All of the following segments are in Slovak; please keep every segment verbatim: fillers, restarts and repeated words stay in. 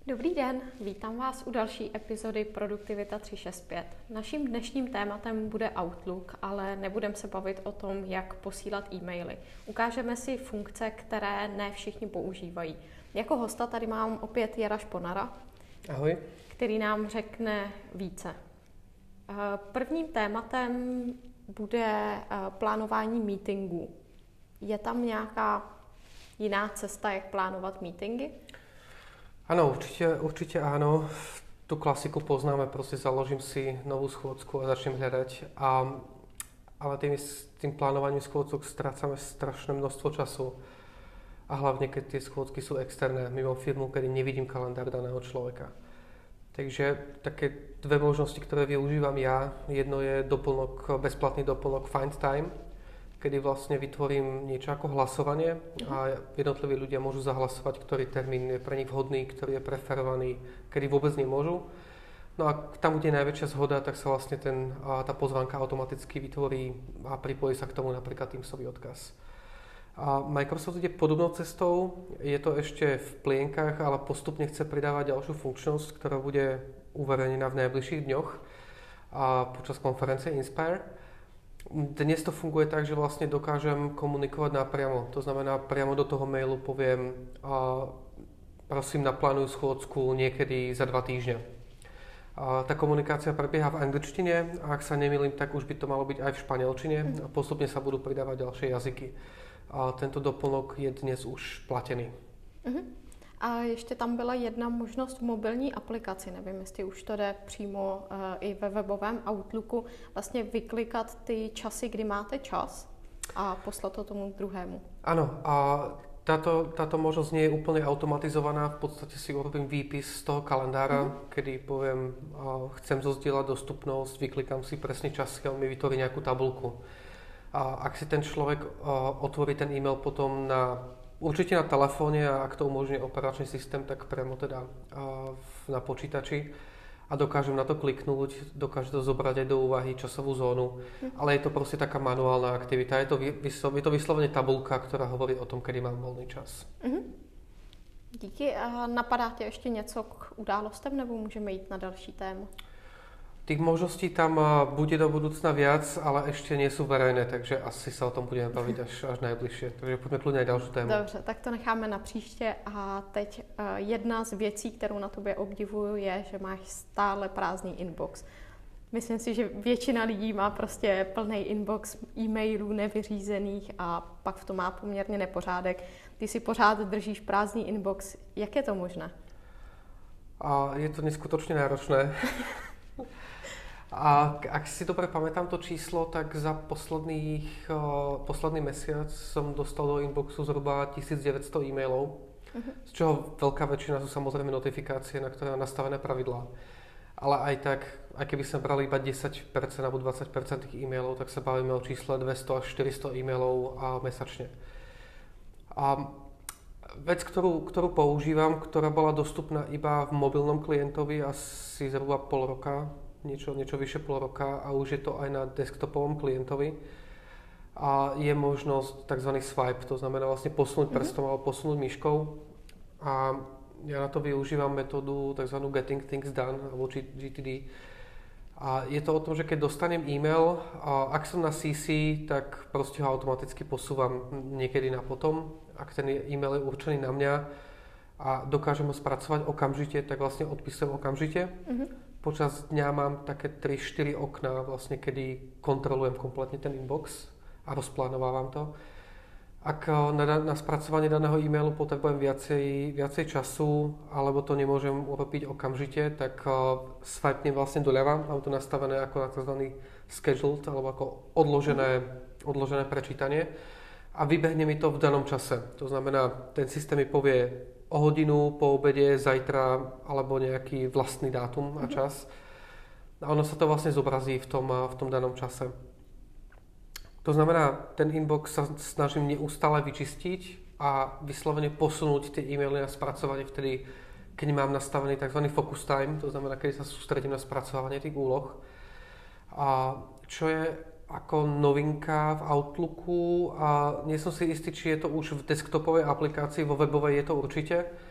Dobrý den, vítám vás u další epizody Produktivita tři šest pět. Naším dnešním tématem bude Outlook, ale nebudeme se bavit o tom, jak posílat e-maily. Ukážeme si funkce, které ne všichni používají. Jako hosta tady mám opět Jara Šponara, Ahoj. Který nám řekne více. Prvním tématem bude plánování meetingů. Je tam nějaká jiná cesta, jak plánovat meetingy? Áno, určite, určite áno. Tú klasiku poznáme, proste založím si novú schôdzku a začnem hľadať. A, ale tým, tým plánovaním schôdzok strácame strašné množstvo času. A hlavne, keď tie schôdzky sú externé, mimo firmu, kedy nevidím kalendár daného človeka. Takže také dve možnosti, ktoré využívam ja. Jedno je doplnok, bezplatný doplnok Find Time, kedy vlastne vytvorím niečo ako hlasovanie a jednotliví ľudia môžu zahlasovať, ktorý termín je pre nich vhodný, ktorý je preferovaný, kedy vôbec nemôžu. No a tam, kde je najväčšia zhoda, tak sa vlastne ten, tá pozvánka automaticky vytvorí a pripojí sa k tomu napríklad Teamsový odkaz. A Microsoft ide podobnou cestou, je to ešte v plienkach, ale postupne chce pridávať ďalšiu funkčnosť, ktorá bude uverejnená v najbližších dňoch a počas konferencie Inspire. Dnes to funguje tak, že vlastne dokážem komunikovať napriamo. To znamená, priamo do toho mailu poviem a prosím, naplánuj schôdzku niekedy za dva týždňa. A tá komunikácia prebieha v angličtine a ak sa nemýlim, tak už by to malo byť aj v španielčine a postupne sa budú pridávať ďalšie jazyky. A tento doplnok je dnes už platený. Uh-huh. A ještě tam byla jedna možnost v mobilní aplikaci, nevím, jestli už to jde přímo uh, i ve webovém Outlooku, vlastně vyklikat ty časy, kdy máte čas a poslat to tomu druhému. Áno, a táto, táto možnosť nie je úplne automatizovaná, v podstate si urobím výpis z toho kalendára, mm-hmm. kedy poviem, uh, chcem zozdieľať dostupnosť, vyklikám si presne časy a on mi vytvorí nejakú tabulku. A ak si ten človek uh, otvorí ten e-mail potom na určite na telefóne a ak to umožňuje operačný systém, tak priamo teda na počítači a dokážem na to kliknúť, dokáže to zobrať aj do úvahy časovú zónu, mm. ale je to proste taká manuálna aktivita. Je to, vyslo, je to vyslovene tabulka, ktorá hovorí o tom, kedy mám voľný čas. Mm-hmm. Díky. A napadá tě ještě něco k událostem, nebo můžeme jít na další téma? Tých možností tam bude do budúcna viac, ale ešte nie sú verejné, takže asi sa o tom budeme baviť až, až najbližšie. Takže poďme kľudne aj ďalšiu tému. Dobře, tak to necháme na příště. A teď uh, jedna z věcí, kterou na tobě obdivuju, je, že máš stále prázdný inbox. Myslím si, že většina lidí má prostě plný inbox e-mailů nevyřízených a pak v tom má poměrně nepořádek. Ty si pořád držíš prázdný inbox. Jak je to možné? A je to neskutočne náročné. A ak si dobre pamätám to číslo, tak za posledných, uh, posledný mesiac som dostal do inboxu zhruba tisícdeväťsto e-mailov, uh-huh. z čoho veľká väčšina sú samozrejme notifikácie, na ktoré mám nastavené pravidlá. Ale aj tak, aj keby sme brali iba desať percent alebo dvadsať percent tých e-mailov, tak sa bavíme o čísle dvesto až štyristo e-mailov a mesačne. A vec, ktorú, ktorú používam, ktorá bola dostupná iba v mobilnom klientovi asi zhruba pol roka, niečo, niečo vyše pol roka a už je to aj na desktopovom klientovi. A je možnosť tzv. Swipe, to znamená vlastne posunúť prstom mm-hmm. alebo posunúť myškou. A ja na to využívam metódu tzv. Getting Things Done, alebo G T D. A je to o tom, že keď dostanem e-mail, a ak som na C C, tak proste ho automaticky posúvam niekedy na potom. Ak ten e-mail je určený na mňa a dokážem ho spracovať okamžite, tak vlastne odpisujem okamžite. Mm-hmm. Počas dňa mám také tri štyri okná, vlastne, kedy kontrolujem kompletne ten inbox a rozplánovávam to. Ak na, na spracovanie daného e-mailu potrebujem viacej, viacej času, alebo to nemôžem urobiť okamžite, tak uh, swipnem vlastne doľava. Mám to nastavené ako na tzv. Scheduled, alebo ako odložené, odložené prečítanie. A vybehne mi to v danom čase. To znamená, ten systém mi povie o hodinu, po obede, zajtra, alebo nejaký vlastný dátum a čas. A ono sa to vlastne zobrazí v tom, v tom danom čase. To znamená, ten inbox sa snažím neustále vyčistiť a vyslovene posunúť tie e-maily na spracovanie vtedy, keď mám nastavený tzv. Focus time, to znamená, keď sa sústredím na spracovanie tých úloh. A čo je ako novinka v Outlooku a nie som si istý, či je to už v desktopovej aplikácii, vo webovej je to určite,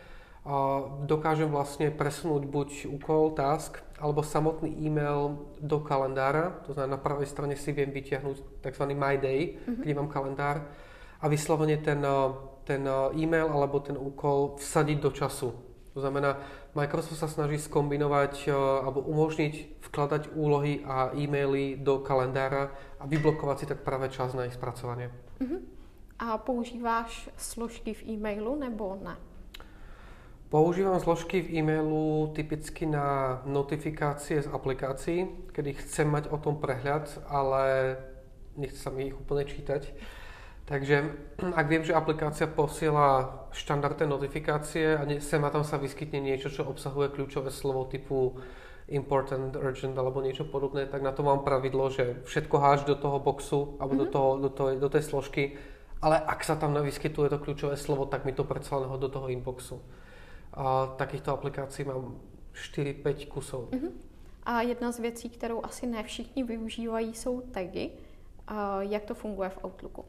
dokážem vlastne presunúť buď úkol, task, alebo samotný e-mail do kalendára. To znamená, na pravej strane si viem vytiahnuť tzv. My Day, mm-hmm. kde mám kalendár a vyslovene ten, ten e-mail alebo ten úkol vsadiť do času. To znamená, Microsoft sa snaží skombinovať alebo umožniť vkladať úlohy a e-maily do kalendára a vyblokovať si tak práve čas na ich spracovanie. Uh-huh. A používáš složky v e-mailu nebo ne? Používam zložky v e-mailu typicky na notifikácie z aplikácií, kedy chcem mať o tom prehľad, ale nechce sa mi ich úplne čítať. Takže ak viem, že aplikácia posiela štandardné notifikácie a sem a tam sa vyskytne niečo, čo obsahuje kľúčové slovo typu important, urgent alebo niečo podobné, tak na to mám pravidlo, že všetko háž do toho boxu alebo mm-hmm. do, toho, do, toho, do tej složky, ale ak sa tam vyskytuje to kľúčové slovo, tak mi to predsa len ho do toho inboxu. A takýchto aplikácií mám štyri päť kusov. Mm-hmm. A jedna z věcí, kterou asi ne všichni využívají, jsou tagy. A jak to funguje v Outlooku?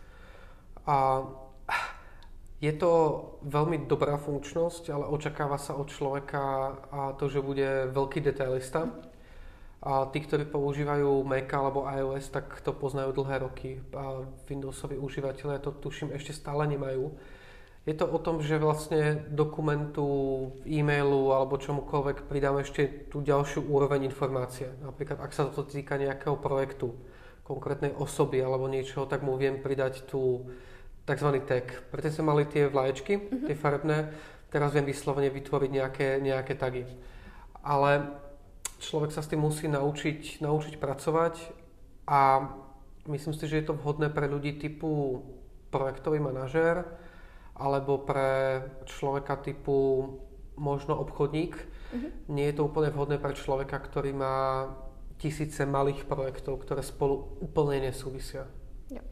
A je to veľmi dobrá funkčnosť, ale očakáva sa od človeka a to, že bude veľký detailista. A tí, ktorí používajú Mac alebo iOS, tak to poznajú dlhé roky. A Windowsoví užívateľe to tuším ešte stále nemajú. Je to o tom, že vlastne dokumentu, e-mailu alebo čomukoľvek pridám ešte tú ďalšiu úroveň informácie. Napríklad, ak sa to týka nejakého projektu, konkrétnej osoby alebo niečoho, tak mu viem pridať tú takzvaný tag. Preto sme mali tie vlaječky, mm-hmm. tie farebné, teraz viem vyslovene vytvoriť nejaké, nejaké tagy. Ale človek sa s tým musí naučiť, naučiť pracovať a myslím si, že je to vhodné pre ľudí typu projektový manažér alebo pre človeka typu možno obchodník. Mm-hmm. Nie je to úplne vhodné pre človeka, ktorý má tisíce malých projektov, ktoré spolu úplne nesúvisia. Jo.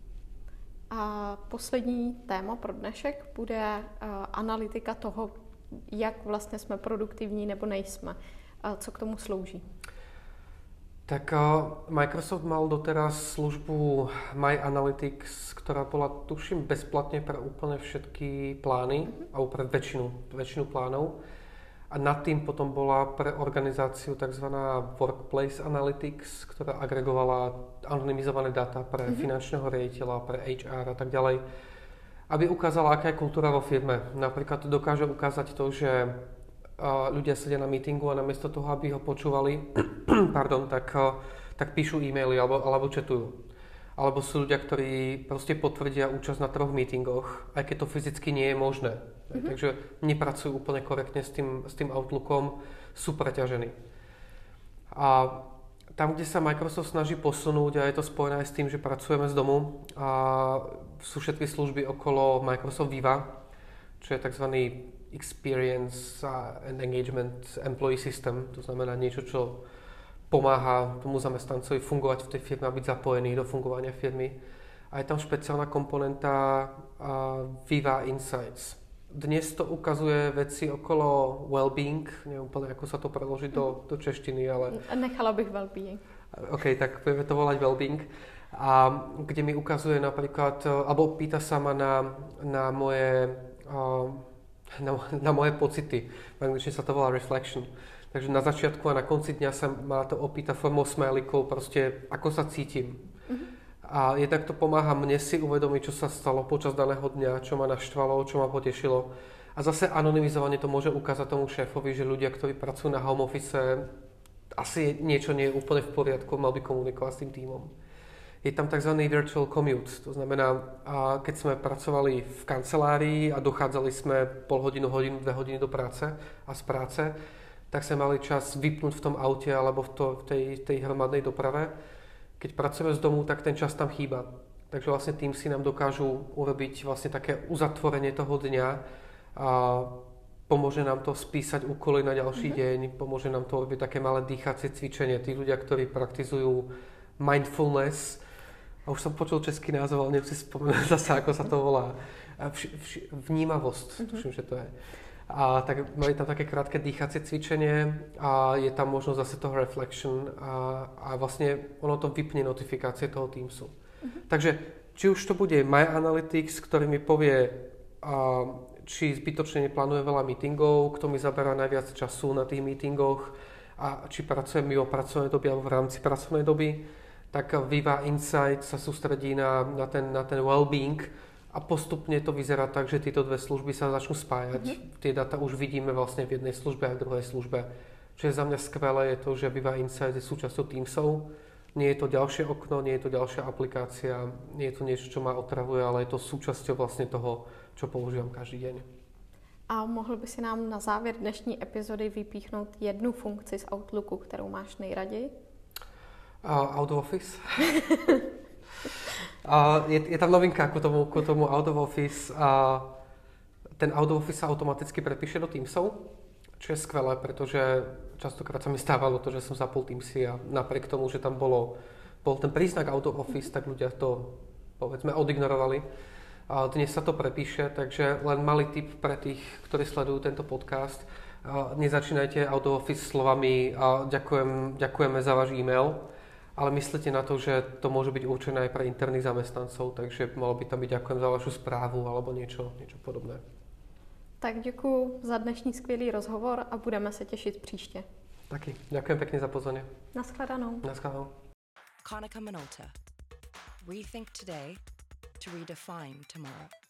A poslední téma pro dnešek bude uh, analytika toho, jak vlastně jsme produktivní nebo nejsme. A co k tomu slouží? Tak uh, Microsoft mal doteraz službu My Analytics, ktorá bola tuším bezplatne pre úplne všetky plány, mm-hmm. alebo pre väčšinu, väčšinu plánov. A nad tým potom bola pre organizáciu tzv. Workplace Analytics, ktorá agregovala anonymizované dáta pre mm-hmm. finančného riaditeľa, pre há er a tak ďalej, aby ukázala, aká je kultúra vo firme. Napríklad dokáže ukázať to, že uh, ľudia sedia na meetingu a namiesto toho, aby ho počúvali, pardon, tak, uh, tak píšu e-maily alebo, alebo chatujú. Alebo sú ľudia, ktorí proste potvrdia účasť na troch meetingoch, aj keď to fyzicky nie je možné. Mm-hmm. Takže nepracujú úplne korektne s tým, s tým Outlookom, sú preťažení. A tam, kde sa Microsoft snaží posunúť, a je to spojené aj s tým, že pracujeme z domu, a sú všetky služby okolo Microsoft Viva, čo je tzv. Experience and Engagement Employee System, to znamená niečo, čo pomáha tomu zamestnancovi fungovať v tej firme a byť zapojený do fungovania firmy. A je tam špeciálna komponenta uh, Viva Insights. Dnes to ukazuje veci okolo well-being, neviem úplne, ako sa to preloží do, do češtiny, ale... Nechala bych well-being. OK, tak budeme to volať well-being. A kde mi ukazuje napríklad, alebo pýta sa ma na, na moje... Uh, na, na moje pocity. V angličtine sa to volá reflection. Takže na začiatku a na konci dňa sa ma to opýta formou smajlikov, proste ako sa cítim. Uh-huh. A jednak to pomáha mne si uvedomiť, čo sa stalo počas daného dňa, čo ma naštvalo, čo ma potešilo. A zase anonymizovanie to môže ukázať tomu šéfovi, že ľudia, ktorí pracujú na home office, asi niečo nie je úplne v poriadku, mal by komunikovať s tým tímom. Je tam tzv. Virtual commute, to znamená, keď sme pracovali v kancelárii a dochádzali sme pol hodinu, hodinu, dve hodiny do práce a z práce, tak sme mali čas vypnúť v tom aute alebo v, to, v tej, tej hromadnej doprave. Keď pracujeme z domu, tak ten čas tam chýba. Takže vlastne tým si nám dokážu urobiť vlastne také uzatvorenie toho dňa a pomôže nám to spísať úkoly na ďalší mm-hmm. deň, pomôže nám to urobiť také malé dýchacie cvičenie. Tí ľudia, ktorí praktizujú mindfulness, a už som počul český názov, ale neviem si spomenúť zase, ako sa to volá. Vš, vš, vnímavosť, mm-hmm. tuším, že to je. A tak mali tam také krátke dýchacie cvičenie a je tam možnosť zase toho reflection a, a vlastne ono to vypne notifikácie toho Teamsu. Mm-hmm. Takže či už to bude My Analytics, ktorý mi povie, a, či zbytočne neplánuje veľa meetingov, kto mi zaberá najviac času na tých meetingoch a či pracujem mimo pracovnej doby alebo v rámci pracovnej doby, tak Viva Insight sa sústredí na, na, ten, na ten well-being a postupne to vyzerá tak, že tieto dve služby sa začnú spájať. Mm-hmm. Tie dáta už vidíme vlastne v jednej službe a v druhej službe. Čo je za mňa skvelé, je to, že Viva Insight je súčasťou Teamsov. Nie je to ďalšie okno, nie je to ďalšia aplikácia, nie je to niečo, čo ma otravuje, ale je to súčasťou vlastne toho, čo používam každý deň. A mohl by si nám na závěr dnešní epizody vypíchnout jednu funkci z Outlooku, kterou máš nejraději? Uh, out of Office. uh, je, je tam novinka ku tomu, ku tomu Out of Office. Uh, ten Out of Office sa automaticky prepíše do Teamsov, čo je skvelé, pretože častokrát sa mi stávalo to, že som zapol Teamsy a napriek tomu, že tam bolo, bol ten príznak Out of Office, tak ľudia to, povedzme, odignorovali. A dnes sa to prepíše, takže len malý tip pre tých, ktorí sledujú tento podcast. A nezačínajte Out of Office slovami a ďakujem, ďakujeme za váš e-mail, ale myslíte na to, že to môže byť určené aj pre interných zamestnancov, takže malo by tam byť ďakujem za vašu správu alebo niečo, niečo podobné. Tak děkuji za dnešní skvělý rozhovor a budeme se těšit příště. Taky. Ďakujem pekne za pozvanie. Naschledanou. Naschledanou. Konica Minolta. Rethink today to redefine tomorrow.